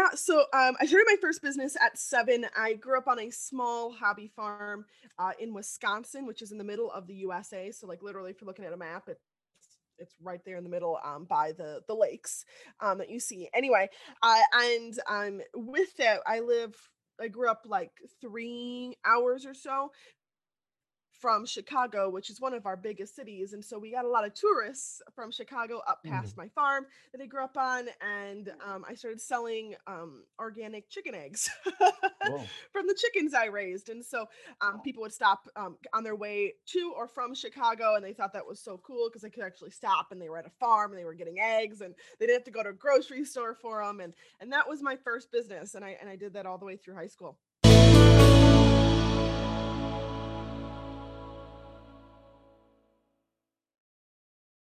I started my first business at 7. I grew up on a small hobby farm in Wisconsin, which is in the middle of the USA. So, like, literally, if you're looking at a map, it's right there in the middle by the lakes that you see. Anyway, and with that, I grew up like 3 hours or so from Chicago, which is one of our biggest cities. And so we got a lot of tourists from Chicago up Mhm. past my farm that I grew up on. And I started selling organic chicken eggs Whoa. from the chickens I raised. And so people would stop on their way to or from Chicago. And they thought that was so cool because they could actually stop and they were at a farm and they were getting eggs and they didn't have to go to a grocery store for them. And that was my first business. And I did that all the way through high school.